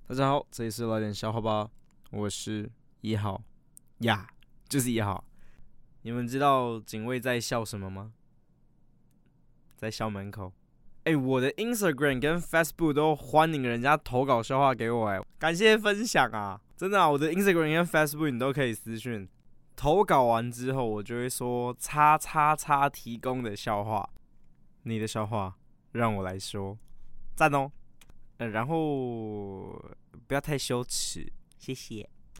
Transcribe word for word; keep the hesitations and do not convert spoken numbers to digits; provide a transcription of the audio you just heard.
大家好，這裡是來點笑話吧，我是一號呀， yeah, 就是一號。你們知道警衛在笑什麼嗎？在校門口。哎、欸，我的 Instagram 跟 Facebook 都歡迎人家投稿笑話給我，哎，感謝分享啊！真的啊，我的 Instagram 跟 Facebook 你都可以私訊投稿完之後，我就會說叉叉叉提供的笑話，你的笑話讓我來說，讚哦。呃，然後不要太羞恥，謝謝。